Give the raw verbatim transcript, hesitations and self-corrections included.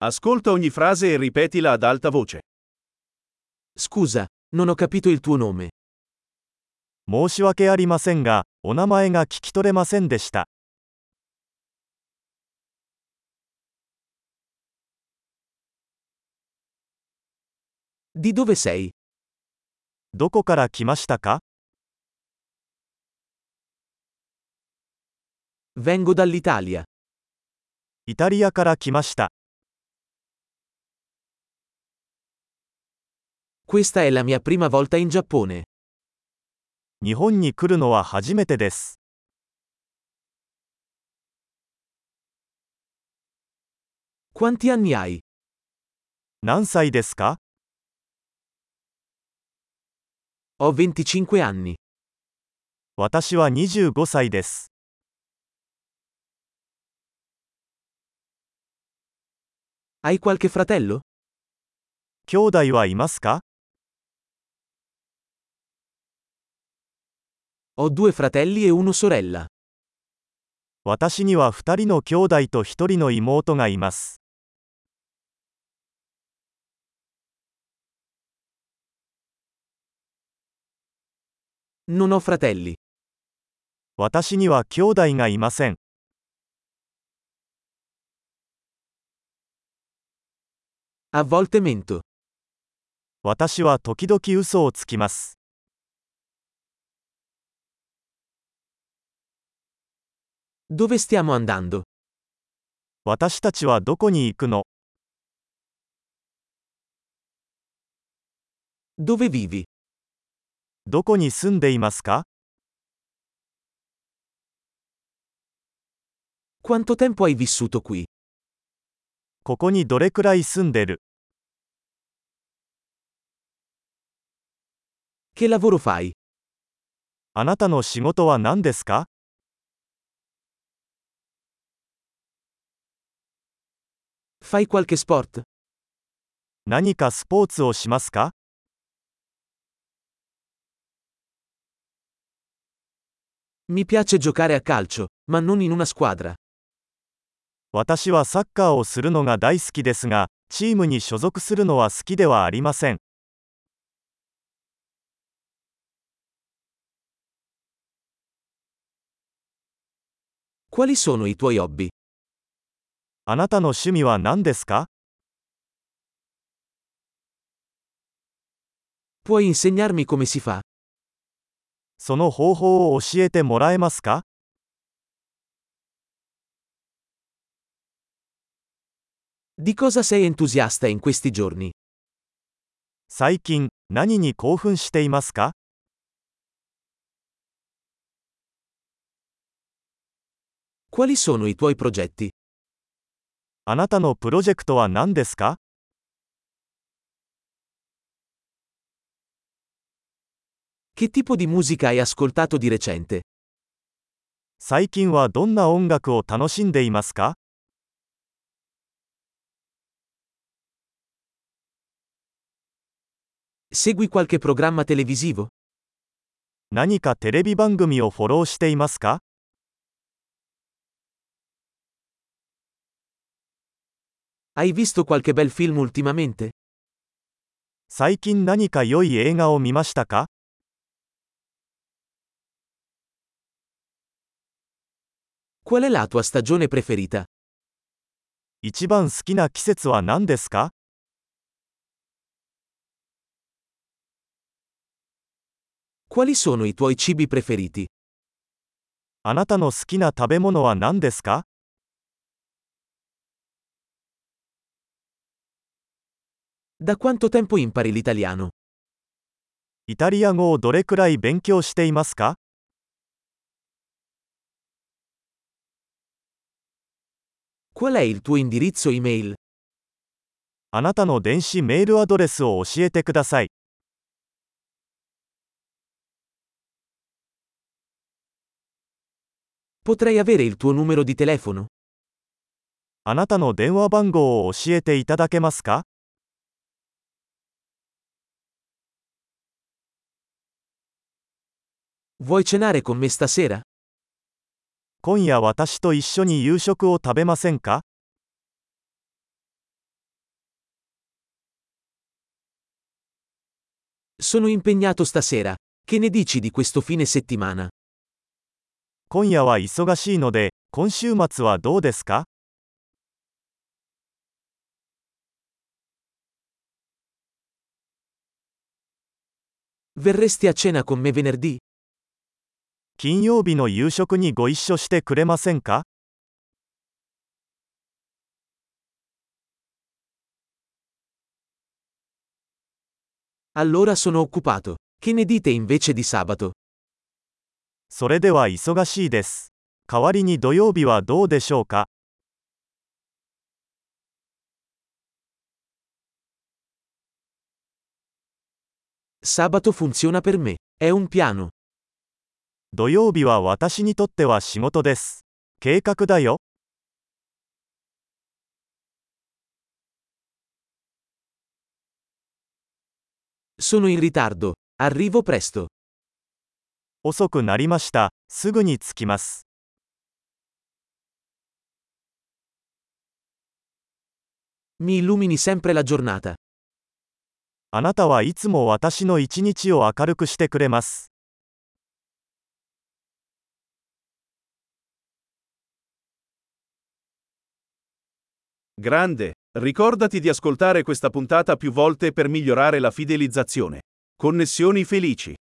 Ascolta ogni frase e ripetila ad alta voce. Scusa, non ho capito il tuo nome. 申し訳ありませんが、お名前が聞き取れませんでした。 Di dove sei? どこから来ましたか？ Vengo dall'Italia. イタリアから来ました。 Questa è la mia prima volta in Giappone. 日本に来るのは初めてです。 Quanti anni hai? 何歳ですか？ Ho venticinque anni. 私はにじゅうごさいです。 Hai qualche fratello? 兄弟はいますか？ Ho due fratelli e una sorella. 私にはふたりの兄弟とひとりの妹がいます。 Non ho fratelli. 私には兄弟がいません。 A volte mento. 私は時々嘘をつきます。 Dove stiamo andando? 私たちはどこに行くの？ Dove vivi? どこに住んでいますか？ Quanto tempo hai vissuto qui? ここにどれくらい住んでる？ Che lavoro fai? あなたの仕事は何ですか？ Fai qualche sport? 何かスポーツをしますか？ Mi piace giocare a calcio, ma non in una squadra. 私はサッカーをするのが大好きですが、チームに所属するのは好きではありません。 Quali sono i tuoi hobby? あなたの趣味は何ですか？ Puoi insegnarmi come si fa? その方法を教えてもらえますか？ Di cosa sei entusiasta in questi giorni? 最近、何に興奮していますか？ Quali sono i tuoi progetti? あなたのプロジェクトは何ですか？ Che tipo di musica hai ascoltato di recente? 最近はどんな音楽を楽しんでいますか？ Segui qualche programma televisivo? 何かテレビ番組をフォローしていますか？ Hai visto qualche bel film ultimamente? 最近何か良い映画を見ましたか？ Qual è la tua stagione preferita? 一番好きな季節は何ですか？ Quali sono i tuoi cibi preferiti? あなたの好きな食べ物は何ですか？ Da quanto tempo impari l'italiano? イタリア語をどれくらい勉強していますか？ Qual è il tuo indirizzo email? あなたの電子メールアドレスを教えてください。 Potrei avere il tuo numero di telefono? あなたの電話番号を教えていただけますか？ Vuoi cenare con me stasera? 今夜私と一緒に夕食を食べませんか？ Sono impegnato stasera. Che ne dici di questo fine settimana? 今夜は忙しいので、今週末はどうですか？ Verresti a cena con me venerdì? 金曜日の夕食にご一緒してくれませんか？ Allora sono occupato. Che ne dite invece di sabato? それでは忙しいです。代わりに土曜日はどうでしょうか？ Sabato funziona per me. È un piano. 土曜日は私にとっては仕事です。計画だよ。 Sono in ritardo. Arrivo presto. 遅くなりました。すぐに着きます。 Mi illumini sempre la giornata. あなたはいつも私の一日を明るくしてくれます。 Grande, ricordati di ascoltare questa puntata più volte per migliorare la fidelizzazione. Connessioni felici.